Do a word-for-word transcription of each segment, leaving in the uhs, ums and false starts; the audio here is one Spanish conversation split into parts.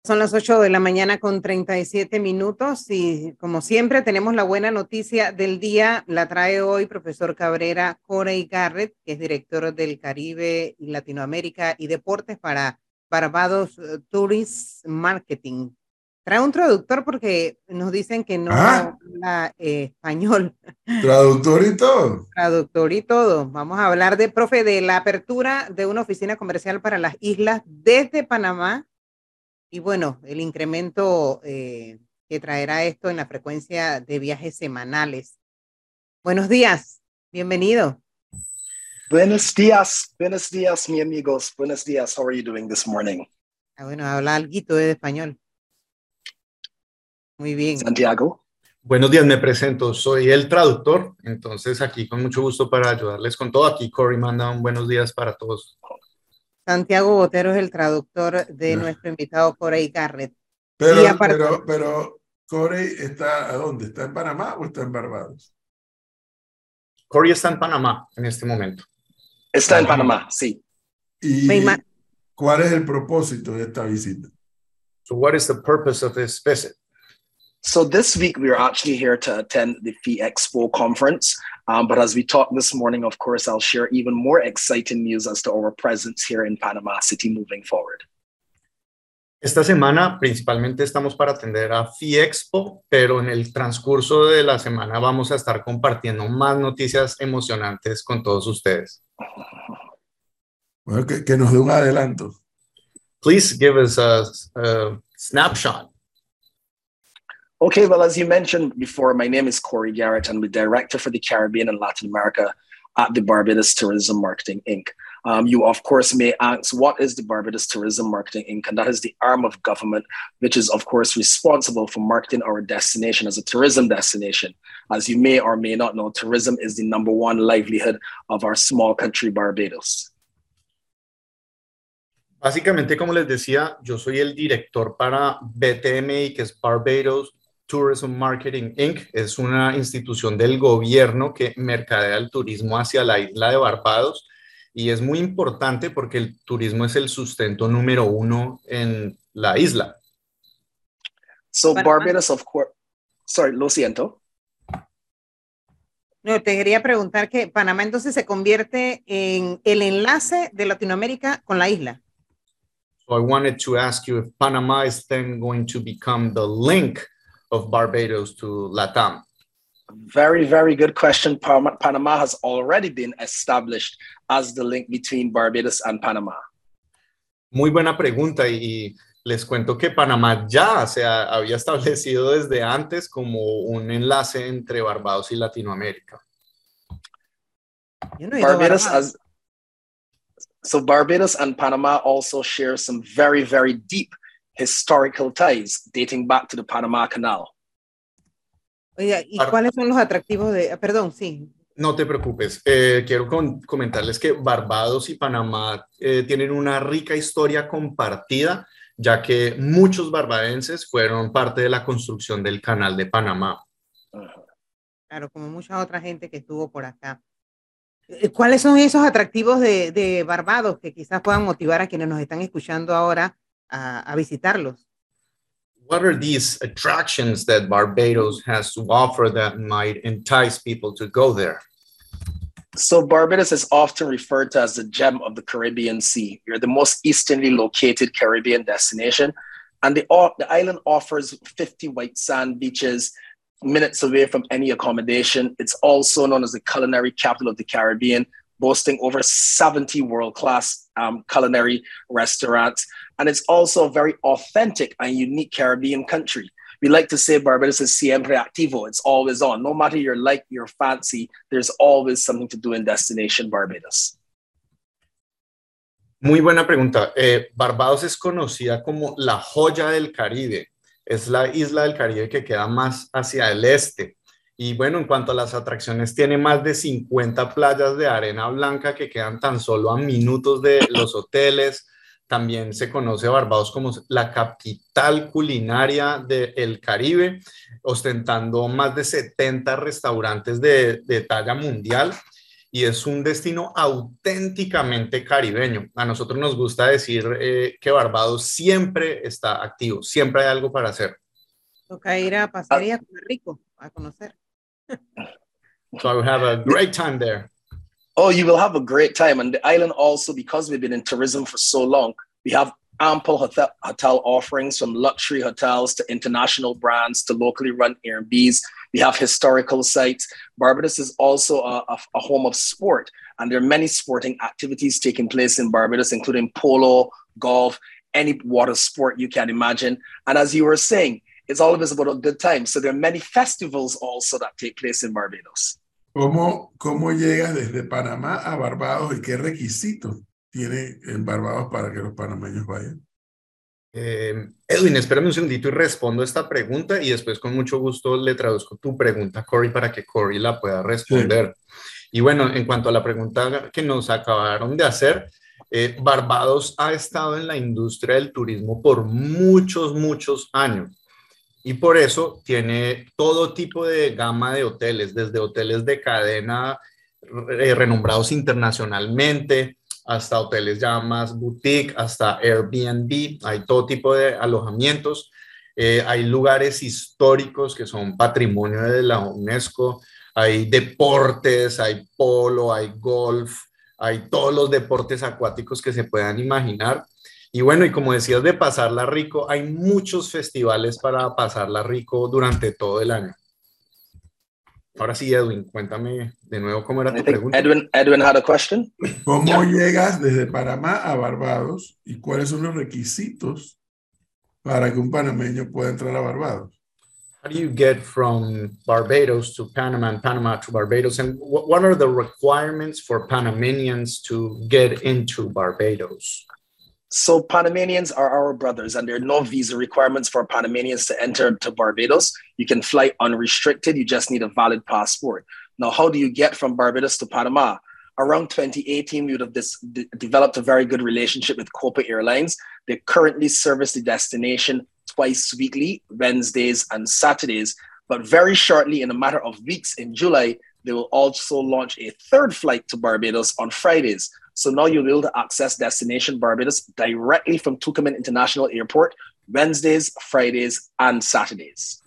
Son las ocho de la mañana con treinta y siete minutos y como siempre tenemos la buena noticia del día. La trae hoy profesor Cabrera Corey Garrett, que es director del Caribe y Latinoamérica y Deportes para Barbados Tourist Marketing. Trae un traductor porque nos dicen que no ¿Ah? habla eh, español. Traductor y todo. Traductor y todo. Vamos a hablar de, profe, de la apertura de una oficina comercial para las islas desde Panamá. Y bueno, el incremento eh, que traerá esto en la frecuencia de viajes semanales. Buenos días, bienvenido. Buenos días, buenos días, mi amigos. Buenos días, how are you doing this morning? Ah, bueno, habla alguito de español. Muy bien. Santiago. Buenos días, me presento, soy el traductor, entonces aquí con mucho gusto para ayudarles con todo. Aquí Corey manda un buenos días para todos. Santiago Botero es el traductor de nuestro invitado Corey Garrett. Pero, aparte, pero, pero, Corey está, ¿a dónde? ¿Está en Panamá o está en Barbados? Corey está en Panamá en este momento. Está en Panamá, sí. ¿Y cuál es el propósito de esta visita? So what is the purpose of this visit? So this week we are actually here to attend the F I Expo conference. Um, but as we talked this morning, of course, I'll share even more exciting news as to our presence here in Panama City moving forward. Esta semana principalmente estamos para atender a F I Expo, pero en el transcurso de la semana vamos a estar compartiendo más noticias emocionantes con todos ustedes. Bueno, que, que nos dé un adelanto. Please give us a, a snapshot. Okay, well, as you mentioned before, my name is Corey Garrett. I'm the director for the Caribbean and Latin America at the Barbados Tourism Marketing Incorporated. Um, you, of course, may ask, what is the Barbados Tourism Marketing Incorporated? And that is the arm of government, which is, of course, responsible for marketing our destination as a tourism destination. As you may or may not know, tourism is the number one livelihood of our small country, Barbados. Básicamente, como les decía, yo soy el director para B T M I, que es Barbados Tourism Marketing Incorporated. Es una institución del gobierno que mercadea el turismo hacia la isla de Barbados y es muy importante porque el turismo es el sustento número uno en la isla. So Barbados, of course, sorry, lo siento. No, te quería preguntar que Panamá entonces se convierte en el enlace de Latinoamérica con la isla. So I wanted to ask you if Panama is then going to become the link of Barbados to LATAM. Very, very good question. Panama has already been established as the link between Barbados and Panama. Muy buena pregunta y les cuento que Panamá ya se ha, había establecido desde antes como un enlace entre Barbados y Latinoamérica. Yo no he Barbados as So Barbados and Panama also share some very, very deep historical ties dating back to the Panama Canal. Oiga, ¿y cuáles son los atractivos de, perdón, sí? No te preocupes, eh, quiero con, comentarles que Barbados y Panamá eh, tienen una rica historia compartida, ya que muchos barbadenses fueron parte de la construcción del Canal de Panamá. Claro, como mucha otra gente que estuvo por acá. ¿Cuáles son esos atractivos de, de Barbados que quizás puedan motivar a quienes nos están escuchando ahora a, a visitarlos? What are these attractions that Barbados has to offer that might entice people to go there? So Barbados is often referred to as the gem of the Caribbean Sea. You're the most easternly located Caribbean destination, and the, the island offers fifty white sand beaches, minutes away from any accommodation. It's also known as the culinary capital of the Caribbean, boasting over seventy world-class um, culinary restaurants. And it's also a very authentic and unique Caribbean country. We like to say Barbados is siempre activo. It's always on. No matter your like, your fancy, there's always something to do in Destination Barbados. Muy buena pregunta. Eh, Barbados es conocida como la joya del Caribe. Es la isla del Caribe que queda más hacia el este. Y bueno, en cuanto a las atracciones, tiene más de cincuenta playas de arena blanca que quedan tan solo a minutos de los hoteles. También se conoce a Barbados como la capital culinaria del Caribe, ostentando más de setenta restaurantes de, de talla mundial. y es un destino auténticamente caribeño. A nosotros nos gusta decir eh, que Barbados siempre está activo, siempre hay algo para hacer. Toca ir a pasear y a comer rico, a conocer. So I will have a great time there. Oh, you will have a great time. And the island also, because we've been in tourism for so long, we have ample hotel, hotel offerings from luxury hotels to international brands to locally run Airbnbs. We have historical sites. Barbados is also a, a, a home of sport, and there are many sporting activities taking place in Barbados, including polo, golf, any water sport you can imagine. And as you were saying, it's always about a good time. So there are many festivals also that take place in Barbados. ¿Cómo, cómo llegas desde Panamá a Barbados y qué requisitos tiene en Barbados para que los panameños vayan? Eh, Edwin, espérame un segundito y respondo esta pregunta y después con mucho gusto le traduzco tu pregunta a Corey para que Corey la pueda responder. Sí. Y bueno, en cuanto a la pregunta que nos acabaron de hacer, eh, Barbados ha estado en la industria del turismo por muchos, muchos años. Y por eso tiene todo tipo de gama de hoteles, desde hoteles de cadena eh, renombrados internacionalmente, hasta hoteles ya más boutique, hasta Airbnb. Hay todo tipo de alojamientos. Eh, hay lugares históricos que son patrimonio de la UNESCO. Hay deportes, hay polo, hay golf, hay todos los deportes acuáticos que se puedan imaginar. Y bueno, y como decías de pasarla rico, hay muchos festivales para pasarla rico durante todo el año. Ahora sí, Edwin, cuéntame de nuevo cómo era tu pregunta. Edwin, Edwin had a question. ¿Cómo llegas desde Panamá a Barbados y cuáles son los requisitos para que un panameño pueda entrar a Barbados? How do you get from Barbados to Panama and Panama to Barbados? And what are the requirements for Panamanians to get into Barbados? So Panamanians are our brothers, and there are no visa requirements for Panamanians to enter to Barbados. You can fly unrestricted. You just need a valid passport. Now, how do you get from Barbados to Panama? Around twenty eighteen, we would have this, de- developed a very good relationship with Copa Airlines. They currently service the destination twice weekly, Wednesdays and Saturdays. But very shortly, in a matter of weeks, in July, they will also launch a third flight to Barbados on Fridays. So now you'll be able to access destination Barbados directly from Tucumán International Airport, Wednesdays, Fridays, and Saturdays.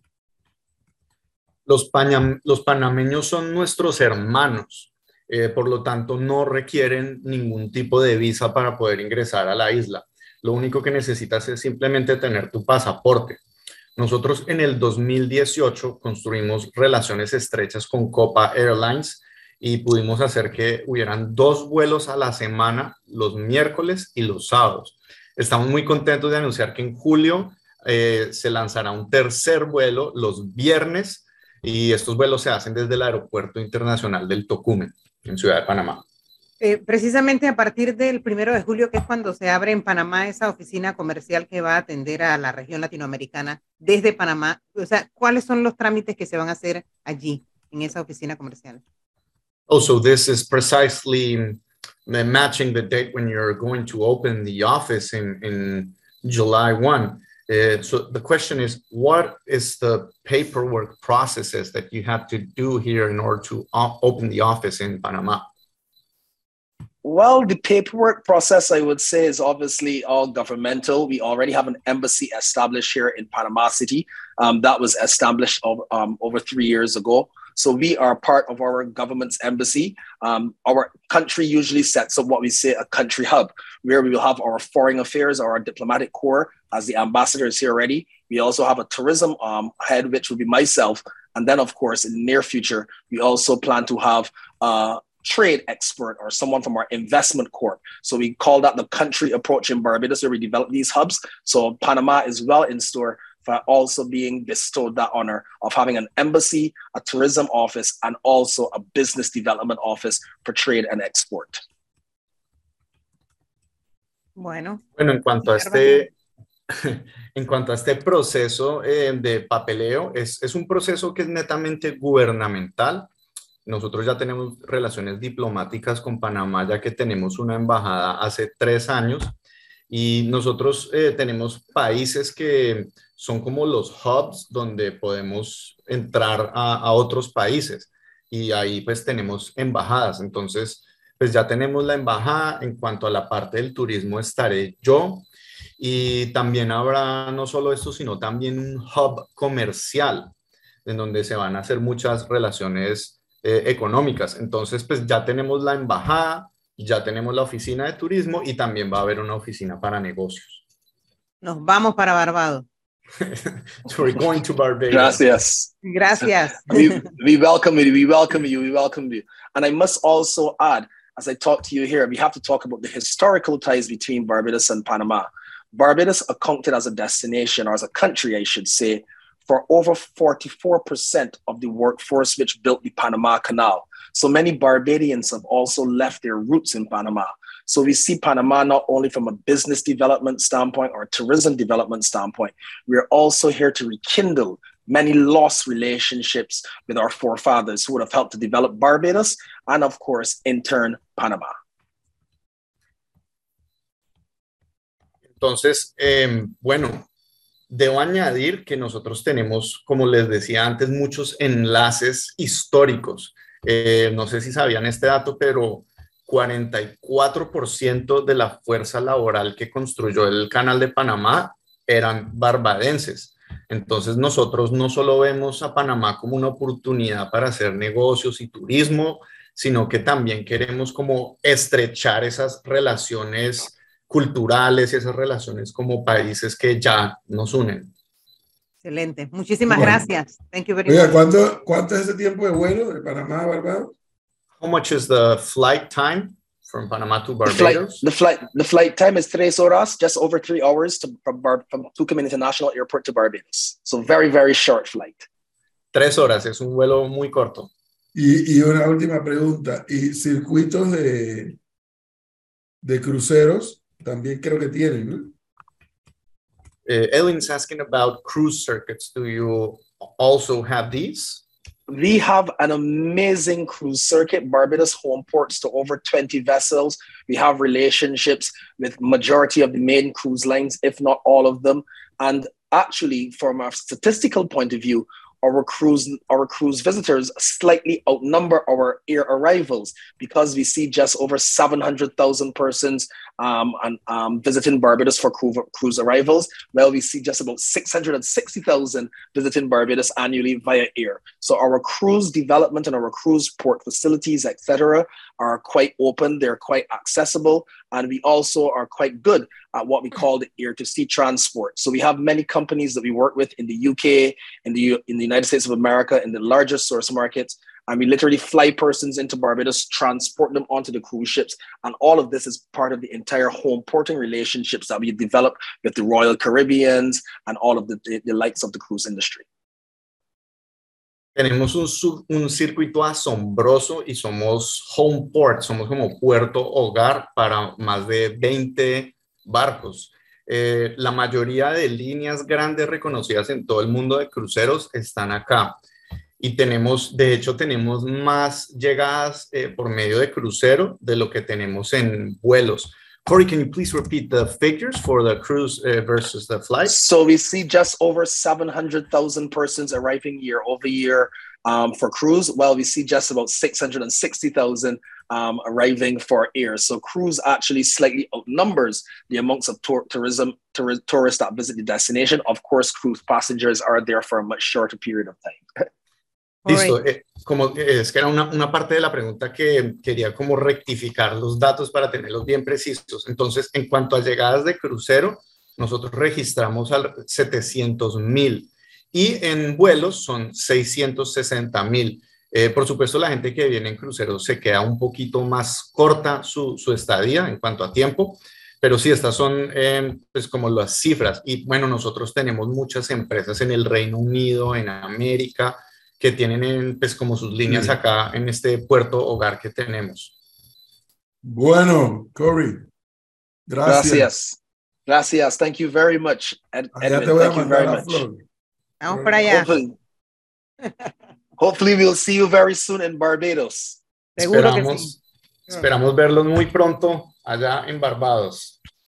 Los, pañam- los panameños son nuestros hermanos, eh, por lo tanto no requieren ningún tipo de visa para poder ingresar a la isla. Lo único que necesitas es simplemente tener tu pasaporte. Nosotros en el dos mil dieciocho construimos relaciones estrechas con Copa Airlines y pudimos hacer que hubieran dos vuelos a la semana, los miércoles y los sábados. Estamos muy contentos de anunciar que en julio eh, se lanzará un tercer vuelo los viernes y estos vuelos se hacen desde el Aeropuerto Internacional del Tocumen, en Ciudad de Panamá. Eh, precisamente a partir del primero de julio, que es cuando se abre en Panamá esa oficina comercial que va a atender a la región latinoamericana desde Panamá, o sea, ¿cuáles son los trámites que se van a hacer allí, en esa oficina comercial? Oh, so this is precisely matching the date when you're going to open the office in, in July first. Uh, so the question is, what is the paperwork processes that you have to do here in order to op- open the office in Panama? Well, the paperwork process, I would say, is obviously all governmental. We already have an embassy established here in Panama City. Um, that was established over, um, over three years ago. So we are part of our government's embassy. Um, our country usually sets up what we say a country hub, where we will have our foreign affairs or our diplomatic corps as the ambassador is here already. We also have a tourism um, head, which will be myself. And then, of course, in the near future, we also plan to have a trade expert or someone from our investment corp. So we call that the country approach in Barbados, where we develop these hubs. So Panama is well in store for also being bestowed that honor of having an embassy, a tourism office, and also a business development office for trade and export. Bueno, bueno en cuanto a este, en cuanto a este proceso eh, de papeleo, es, es un proceso que es netamente gubernamental. Nosotros ya tenemos relaciones diplomáticas con Panamá, ya que tenemos una embajada hace tres años. Y nosotros eh, tenemos países que son como los hubs donde podemos entrar a, a otros países. y ahí pues tenemos embajadas. Entonces, pues ya tenemos la embajada. En cuanto a la parte del turismo estaré yo, y también habrá no solo esto, sino también un hub comercial en donde se van a hacer muchas relaciones eh, económicas. Entonces, pues ya tenemos la embajada, ya tenemos la oficina de turismo y también va a haber una oficina para negocios. Nos vamos para Barbados. So we're going to Barbados. Gracias. Gracias. we, we welcome you. We welcome you. We welcome you. And I must also add, as I talk to you here, we have to talk about the historical ties between Barbados and Panama. Barbados accounted as a destination, or as a country, I should say, for over forty-four percent of the workforce which built the Panama Canal. So many Barbadians have also left their roots in Panama. So we see Panama not only from a business development standpoint or tourism development standpoint, we're also here to rekindle many lost relationships with our forefathers who would have helped to develop Barbados and, of course, in turn, Panama. Entonces, eh, bueno, debo añadir que nosotros tenemos, como les decía antes, muchos enlaces históricos. Eh, no sé si sabían este dato, pero cuarenta y cuatro por ciento de la fuerza laboral que construyó el Canal de Panamá eran barbadenses. Entonces nosotros no solo vemos a Panamá como una oportunidad para hacer negocios y turismo, sino que también queremos como estrechar esas relaciones culturales y esas relaciones como países que ya nos unen. Excelente. Muchísimas Bueno. gracias. Thank you very Oiga, much. ¿cuánto, ¿cuánto es ese tiempo de vuelo de Panamá a Barbados? How much is the flight time from Panama to The flight, Barbados? the flight, the flight time is tres horas, just over three hours to, from, Bar, from Tucumán International Airport to Barbados. So very, very short flight. Tres horas, es un vuelo muy corto. Y, y una última pregunta. ¿Y circuitos de, de cruceros? También creo que tienen, ¿no? Uh, Ellen's asking about cruise circuits. Do you also have these? We have an amazing cruise circuit. Barbados home ports to over twenty vessels. We have relationships with majority of the main cruise lines, if not all of them. And actually, from a statistical point of view, our cruise, our cruise visitors slightly outnumber our air arrivals, because we see just over seven hundred thousand persons um, and, um, visiting Barbados for cruise, cruise arrivals. Well, we see just about six hundred sixty thousand visiting Barbados annually via air. So our cruise development and our cruise port facilities, et cetera, are quite open. They're quite accessible. And we also are quite good at what we call the air-to-sea transport. So we have many companies that we work with in the U K, in the, in the United States of America, in the largest source markets. And we literally fly persons into Barbados, transport them onto the cruise ships. And all of this is part of the entire home porting relationships that we develop with the Royal Caribbeans and all of the, the, the likes of the cruise industry. Tenemos un, sub, un circuito asombroso y somos home port, somos como puerto hogar para más de veinte barcos. Eh, la mayoría de líneas grandes reconocidas en todo el mundo de cruceros están acá. Y tenemos, de hecho, tenemos más llegadas eh, por medio de crucero de lo que tenemos en vuelos. Corey, can you please repeat the figures for the cruise uh, versus the flight? So we see just over seven hundred thousand persons arriving year over year um, for cruise, while we see just about six hundred sixty thousand um, arriving for air. So cruise actually slightly outnumbers the amounts of tour tourism tour tourists that visit the destination. Of course, cruise passengers are there for a much shorter period of time. Listo, eh, como es que era una, una parte de la pregunta que quería como rectificar los datos para tenerlos bien precisos. Entonces, en cuanto a llegadas de crucero, nosotros registramos al setecientos mil y en vuelos son seiscientos sesenta mil. Eh, por supuesto, la gente que viene en crucero se queda un poquito más corta su, su estadía en cuanto a tiempo, pero sí, estas son eh, pues como las cifras. Y bueno, nosotros tenemos muchas empresas en el Reino Unido, en América, que tienen pues como sus líneas sí. acá en este puerto hogar que tenemos. Bueno, Corey, gracias. Gracias. Gracias. Thank you very much, Ed Allá Edwin. te voy Thank a you very mandar la much. flor. Vamos para allá. Hopefully, hopefully we'll see you very soon in Barbados. Seguro que Esperamos, sí. esperamos verlos muy pronto allá en Barbados.